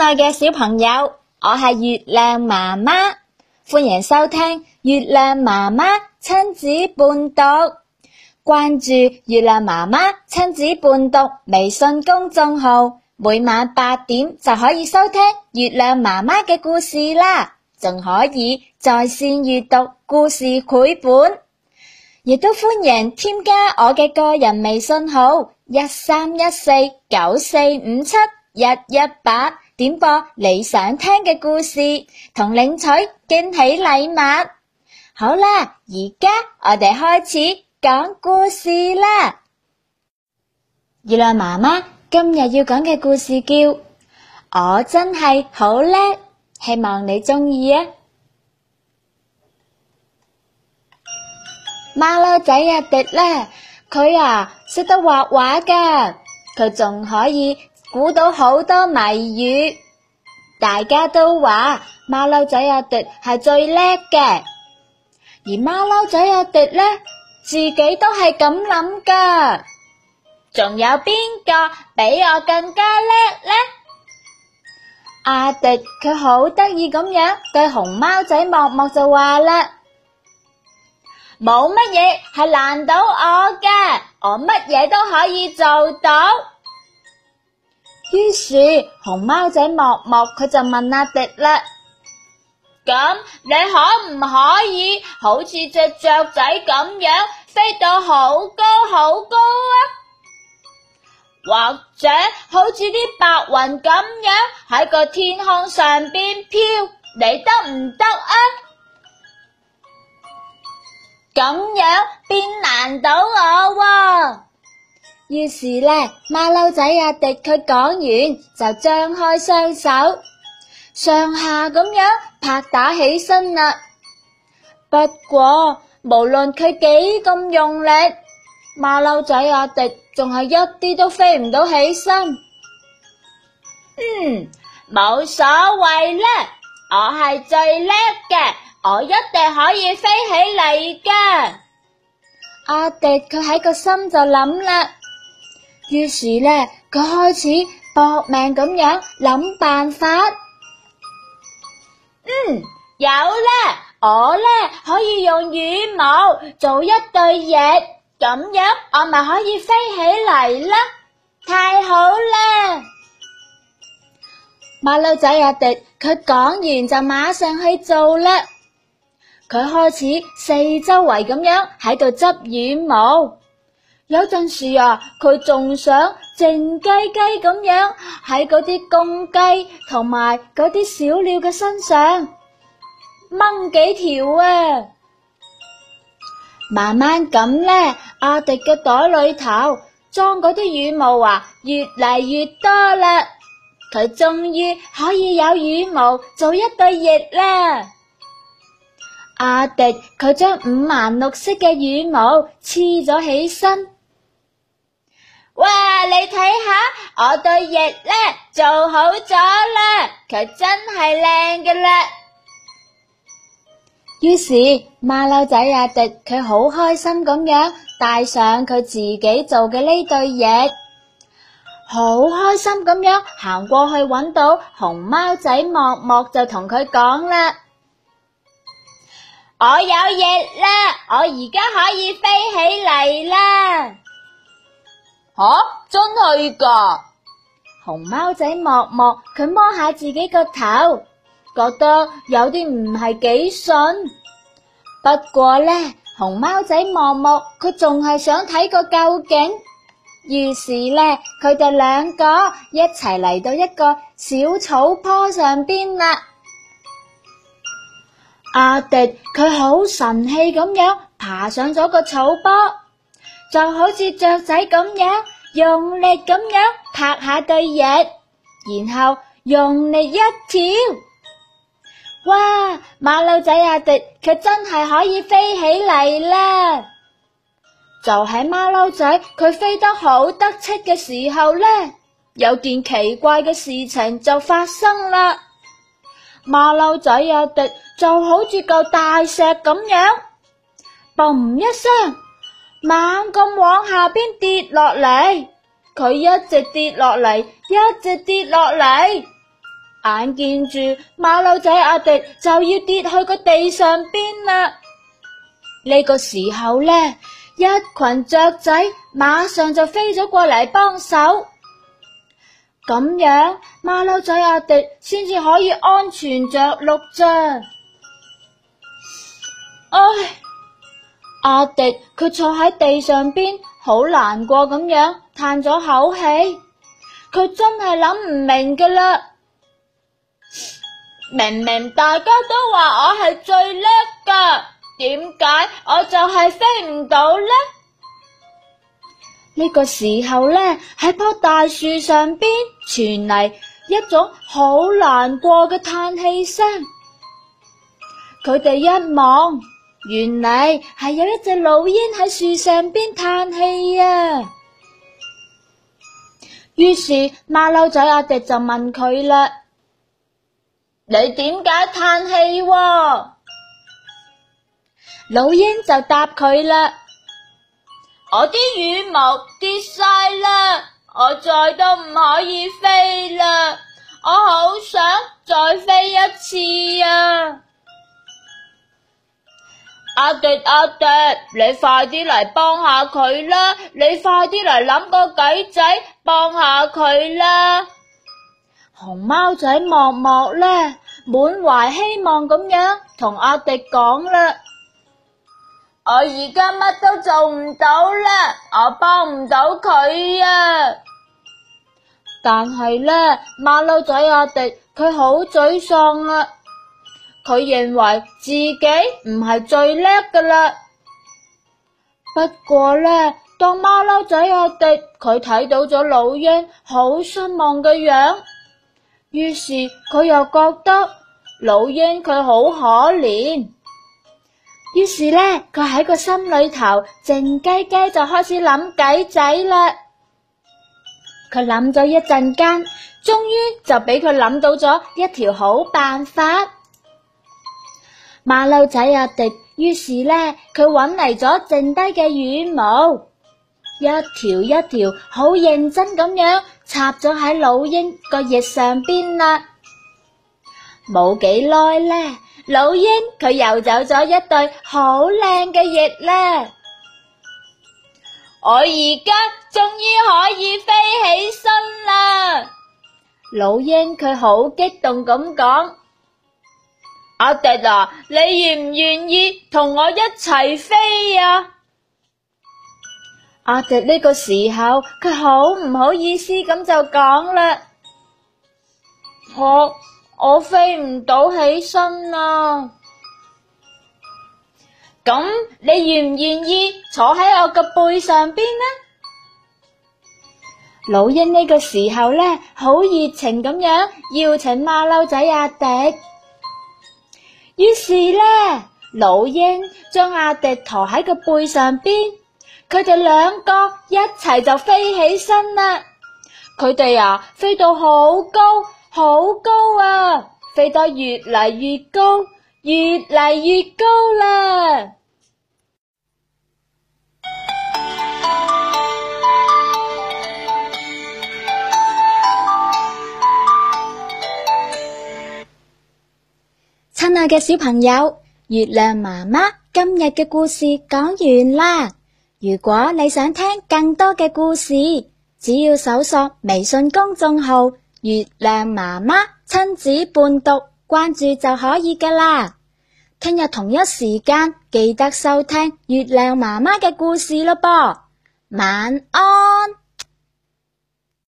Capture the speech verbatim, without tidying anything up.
愛嘅小朋友，我係月亮媽媽，歡迎收聽月亮媽媽親子伴讀。關注月亮媽媽親子伴讀微信公眾號，每晚八點就可以收聽月亮媽媽嘅故事啦，仲可以在線閱讀故事繪本，亦都歡迎添加我嘅個人微信號一三一四九四五七一一八，點播你想聽嘅故事同領取驚喜禮物。好啦，而家我哋開始講故事啦。月亮媽媽今日要講嘅故事叫我真係好叻，希望你鍾意啊。馬騮仔阿迪呢，佢啊識得畫畫㗎，佢仲可以估到好多謎語。大家都話馬騮仔阿迪係最叻嘅，而馬騮仔阿迪呢，自己都係咁諗㗎。仲有邊個比我更加叻呢？阿迪佢好得意咁樣對熊貓仔莫莫就話啦，冇乜嘢係難到我嘅，我乜嘢都可以做到。於是熊貓仔莫莫佢就問阿迪啦，咁你可唔可以好似隻雀仔咁樣飛到好高好高啊？或者好似啲白雲咁樣喺個天空上邊飄，你得唔得啊？咁樣邊難到我喎？於是呢，馬騮仔阿迪佢講完就張開雙手，上下咁樣拍打起身啦。不過無論佢幾咁用力，馬騮仔阿迪仲係一啲都飛唔到起身。嗯，冇所謂啦，我係最叻嘅，我一定可以飛起嚟㗎。阿迪佢喺個心就諗啦，於是呢，佢開始搏命咁樣諗辦法。嗯，有啦，我呢可以用羽毛做一對翼，咁樣我咪可以飛起嚟啦，太好啦！馬騮仔阿迪佢講完就馬上去做啦。佢開始四周圍咁樣喺度執羽毛，有陣時啊，佢仲想靜雞雞咁樣喺嗰啲公雞同埋嗰啲小鳥嘅身上掹幾條啊！慢慢咁呢，阿迪嘅袋裏頭裝嗰啲羽毛啊，越嚟越多啦。佢終於可以有羽毛做一對翼啦。阿迪佢將五顏六色嘅羽毛黐咗起身。哇，你睇下我對翼呢做好咗啦，佢真係靚㗎啦。於是馬騮仔阿迪佢好開心咁樣戴上佢自己做嘅呢對翼，好開心咁樣行過去搵到熊貓仔莫莫，就同佢講啦，我有翼啦，我而家可以飛起嚟啦。吓、啊，真係㗎？熊貓仔莫莫佢摸下自己個頭，覺得有啲唔係幾順。不過呢，熊貓仔莫莫佢仲係想睇個究竟，於是呢，佢哋兩個一齊嚟到一個小草坡上邊啦。阿迪佢好神氣咁樣爬上咗個草坡，就好似雀仔咁樣用力咁樣拍下對翼，然後用力一跳。哇！馬騮仔阿迪佢真係可以飛起嚟啦！就喺馬騮仔佢飛得好得戚嘅時候呢，有件奇怪嘅事情就發生啦。馬騮仔阿迪就好似嚿大石咁樣，嘣一聲，猛咁往下邊跌落嚟。佢一直跌落嚟，一直跌落嚟。 眼見住馬騮仔阿迪就要跌去個地上邊啦。呢個時候呢，一群雀仔馬上就飛咗過嚟幫手，咁樣馬騮仔阿迪先至可以安全着陸啫。唉，阿迪佢坐喺地上邊，好難過咁樣嘆咗口氣，佢真係諗唔明㗎啦。明明大家都話我係最叻㗎，點解我就係飛唔到呢？呢個時候呢，喺棵大樹上邊傳嚟一種好難過嘅嘆氣聲。佢哋一望，原嚟係有一隻老鷹喺樹上邊嘆氣啊。於是馬騮仔阿迪就問佢啦：你點解嘆氣喎？老鷹就答佢啦：我啲羽毛跌晒啦，我再都唔可以飛啦，我好想再飛一次啊！阿迪阿迪，你快啲嚟幫下佢啦！你快啲嚟諗個計仔幫下佢啦！熊貓仔默默呢，滿懷希望咁樣同阿迪講啦：我而家乜都做唔到啦，我幫唔到佢啊！但係呢，馬騮仔阿迪佢好沮喪啊！佢認為自己唔係最叻㗎啦。不過呢，當馬騮仔阿迪佢睇到咗老鷹好失望嘅樣，於是佢又覺得老鷹佢好可憐，於是呢，佢喺個心裏頭靜雞雞就開始諗計仔啦。佢諗咗一陣間，終於就俾佢諗到咗一條好辦法。馬騮仔阿迪於是呢，佢揾嚟咗剩低嘅羽毛，一條一條好認真咁樣插咗喺老鷹個翼上邊啦。冇幾耐呢，老鷹佢又走咗一對好靚嘅翼啦。我而家終於可以飛起身啦！老鷹佢好激動咁講：阿迪啊，你願唔願意同我一齊飛啊？阿迪呢個時候佢好唔好意思咁就講啦：我我飛唔到起身啊！咁你願唔願意坐喺我個背上邊呢？老鷹呢個時候呢，好熱情咁樣邀請馬騮仔阿迪。於是呢，老鷹將阿迪馱喺個背上邊，佢哋兩個一齊就飛起身啦。佢哋啊，飛到好高好高啊，飛得越嚟越高，越嚟越高啦。親愛嘅小朋友，月亮媽媽今日嘅故事講完啦。如果你想聽更多嘅故事，只要搜索微信公眾號月亮媽媽親子伴讀，關注就可以㗎啦。聽日同一時間記得收聽月亮媽媽嘅故事咯噃。晚安。